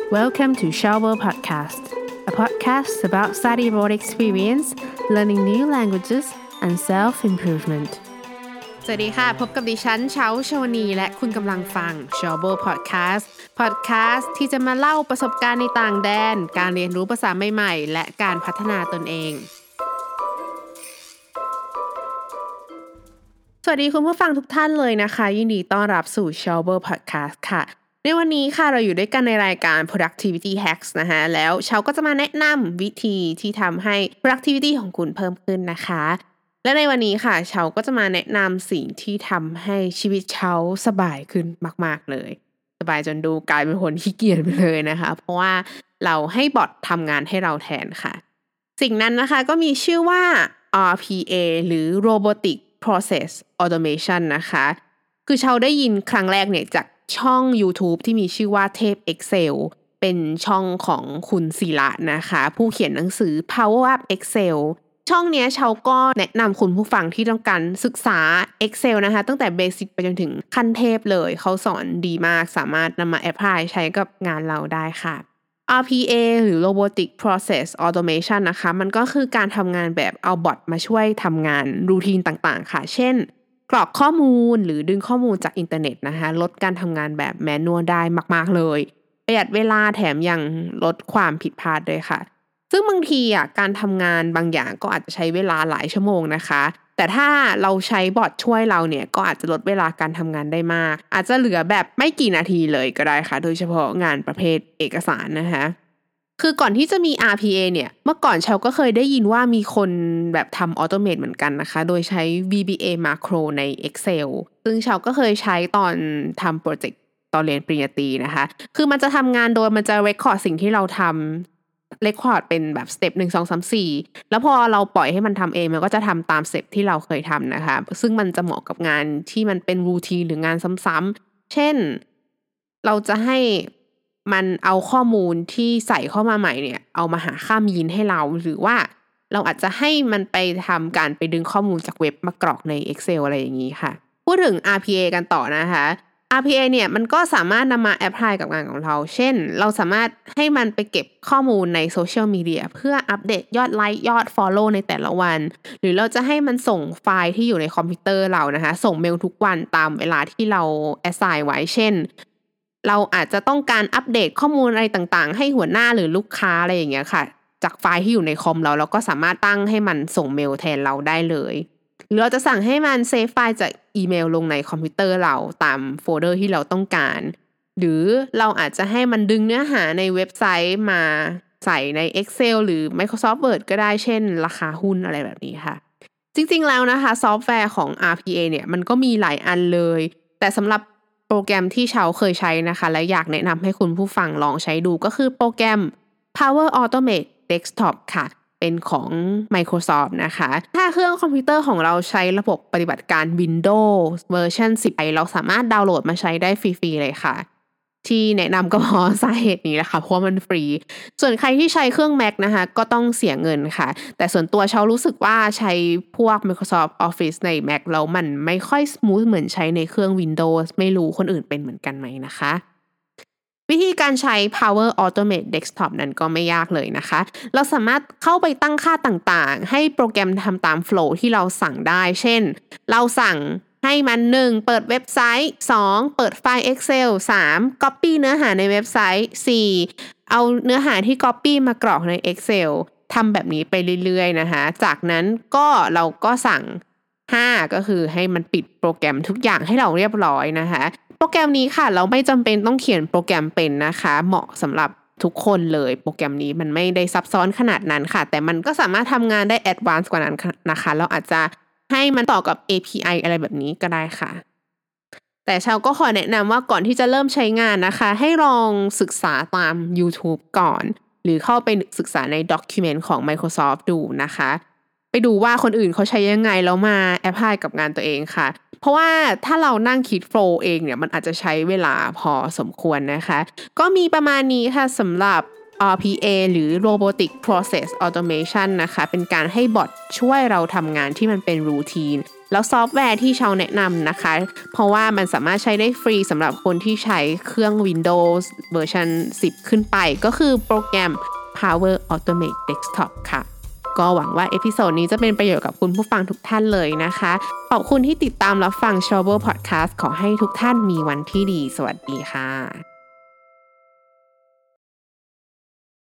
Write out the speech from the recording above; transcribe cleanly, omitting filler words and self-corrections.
Welcome to Shower Podcast, a podcast about study abroad experience, learning new languages, and self-improvement. สวัสดีค่ะพบกับดิฉันเช้าชวนีและคุณกำลังฟัง Shower Podcast ที่จะมาเล่าประสบการณ์ในต่างแดนการเรียนรู้ภาษาใหม่ๆและการพัฒนาตนเองสวัสดีคุณผู้ฟังทุกท่านเลยนะคะยินดีต้อนรับสู่ Shower Podcast ค่ะในวันนี้ค่ะเราอยู่ด้วยกันในรายการ productivity hacks นะคะแล้วเชาก็จะมาแนะนำวิธีที่ทำให้ productivity ของคุณเพิ่มขึ้นนะคะและในวันนี้ค่ะเชาก็จะมาแนะนำสิ่งที่ทำให้ชีวิตเชาสบายขึ้นมากๆเลยสบายจนดูกลายเป็นคนขี้เกียจไปเลยนะคะเพราะว่าเราให้บอททำงานให้เราแทนค่ะสิ่งนั้นนะคะก็มีชื่อว่า RPA หรือ Robotic Process Automation นะคะคือเชาได้ยินครั้งแรกเนี่ยจากช่อง YouTube ที่มีชื่อว่าเทพ Excel เป็นช่องของคุณศิระนะคะผู้เขียนหนังสือ Power Up Excel ช่องเนี้ยเชาก็แนะนำคุณผู้ฟังที่ต้องการศึกษา Excel นะคะตั้งแต่เบสิกไปจนถึงขั้นเทพเลยเขาสอนดีมากสามารถนำมาแอพพลายใช้กับงานเราได้ค่ะ RPA หรือ Robotic Process Automation นะคะมันก็คือการทำงานแบบเอาบอทมาช่วยทำงานรูทีนต่างๆค่ะเช่นกรอกข้อมูลหรือดึงข้อมูลจากอินเทอร์เน็ตนะคะลดการทำงานแบบแมนนวลได้มากๆเลยประหยัดเวลาแถมยังลดความผิดพลาดด้วยค่ะซึ่งบางทีการทำงานบางอย่างก็อาจจะใช้เวลาหลายชั่วโมงนะคะแต่ถ้าเราใช้บอทช่วยเราเนี่ยก็อาจจะลดเวลาการทำงานได้มากอาจจะเหลือแบบไม่กี่นาทีเลยก็ได้ค่ะโดยเฉพาะงานประเภทเอกสารนะคะคือก่อนที่จะมี RPA เนี่ยเมื่อก่อนเชาก็เคยได้ยินว่ามีคนแบบทำออโตเมตเหมือนกันนะคะโดยใช้ VBA macro ใน Excel ซึ่งเชาก็เคยใช้ตอนทำโปรเจกต์ตอนเรียนปริญญาตรีนะคะคือมันจะทำงานโดยมันจะ record สิ่งที่เราทำ record เป็นแบบสเต็ป1 2 3 4แล้วพอเราปล่อยให้มันทำเองมันก็จะทำตามสเต็ปที่เราเคยทำนะคะซึ่งมันจะเหมาะกับงานที่มันเป็นรูทีนหรืองานซ้ำๆเช่นเราจะให้มันเอาข้อมูลที่ใส่เข้ามาใหม่เนี่ยเอามาหาค่ามีนให้เราหรือว่าเราอาจจะให้มันไปทำการไปดึงข้อมูลจากเว็บมากรอกใน Excel อะไรอย่างนี้ค่ะพูดถึง RPA กันต่อนะคะ RPA เนี่ยมันก็สามารถนำมาแอพพลายกับงานของเราเช่นเราสามารถให้มันไปเก็บข้อมูลในโซเชียลมีเดียเพื่ออัปเดตยอดไลค์ยอด follow ในแต่ละวันหรือเราจะให้มันส่งไฟล์ที่อยู่ในคอมพิวเตอร์เรานะคะส่งเมลทุกวันตามเวลาที่เรา assign ไว้เช่นเราอาจจะต้องการอัปเดตข้อมูลอะไรต่างๆให้หัวหน้าหรือลูกค้าอะไรอย่างเงี้ยค่ะจากไฟล์ที่อยู่ในคอมเราก็สามารถตั้งให้มันส่งเมลแทนเราได้เลยหรือเราจะสั่งให้มันเซฟไฟล์จากอีเมลลงในคอมพิวเตอร์เราตามโฟลเดอร์ที่เราต้องการหรือเราอาจจะให้มันดึงเนื้อหาในเว็บไซต์มาใส่ใน Excel หรือ Microsoft Word ก็ได้เช่นราคาหุ้นอะไรแบบนี้ค่ะจริงๆแล้วนะคะซอฟต์แวร์ของ RPA เนี่ยมันก็มีหลายอันเลยแต่สำหรับโปรแกรมที่เชาเคยใช้นะคะและอยากแนะนำให้คุณผู้ฟังลองใช้ดูก็คือโปรแกรม Power Automate Desktop ค่ะเป็นของ Microsoft นะคะถ้าเครื่องคอมพิวเตอร์ของเราใช้ระบบปฏิบัติการ Windows เวอร์ชัน10เราสามารถดาวน์โหลดมาใช้ได้ฟรีๆเลยค่ะที่แนะนำก็เพราะสาเหตุนี้แหละค่ะเพราะมันฟรีส่วนใครที่ใช้เครื่อง Mac นะคะก็ต้องเสียเงินค่ะแต่ส่วนตัวเชารู้สึกว่าใช้พวก Microsoft Office ใน Mac แล้วมันไม่ค่อยสมูทเหมือนใช้ในเครื่อง Windows ไม่รู้คนอื่นเป็นเหมือนกันไหมนะคะวิธีการใช้ Power Automate Desktop นั้นก็ไม่ยากเลยนะคะเราสามารถเข้าไปตั้งค่าต่างๆให้โปรแกรมทำตามโฟลว์ที่เราสั่งได้เช่นเราสั่งให้มัน1เปิดเว็บไซต์2เปิดไฟล์ Excel 3 Copy เนื้อหาในเว็บไซต์4เอาเนื้อหาที่ Copy มากรอกใน Excel ทำแบบนี้ไปเรื่อยๆนะคะจากนั้นเราก็สั่ง5ก็คือให้มันปิดโปรแกรมทุกอย่างให้เราเรียบร้อยนะคะโปรแกรมนี้ค่ะเราไม่จำเป็นต้องเขียนโปรแกรมเป็นนะคะเหมาะสำหรับทุกคนเลยโปรแกรมนี้มันไม่ได้ซับซ้อนขนาดนั้นค่ะแต่มันก็สามารถทำงานได้แอดวานซ์กว่านั้นนะคะเราอาจจะให้มันต่อกับ API อะไรแบบนี้ก็ได้ค่ะแต่เชาก็ขอแนะนำว่าก่อนที่จะเริ่มใช้งานนะคะให้ลองศึกษาตาม YouTube ก่อนหรือเข้าไปศึกษาใน document ของ Microsoft ดูนะคะไปดูว่าคนอื่นเขาใช้ยังไงแล้วมาแอพพลายกับงานตัวเองค่ะเพราะว่าถ้าเรานั่งคิดโฟลว์เองเนี่ยมันอาจจะใช้เวลาพอสมควรนะคะก็มีประมาณนี้ค่ะสำหรับ RPA หรือ Robotic Process Automation นะคะเป็นการให้บอทช่วยเราทำงานที่มันเป็นรูทีนแล้วซอฟต์แวร์ที่เชาแนะนำนะคะเพราะว่ามันสามารถใช้ได้ฟรีสำหรับคนที่ใช้เครื่อง Windows เวอร์ชัน10 ขึ้นไปก็คือโปรแกรม Power Automate Desktop ค่ะก็หวังว่าเอพิโซดนี้จะเป็นประโยชน์กับคุณผู้ฟังทุกท่านเลยนะคะขอบคุณที่ติดตามรับฟัง Chauber Podcast ขอให้ทุกท่านมีวันที่ดีสวัสดีค่ะ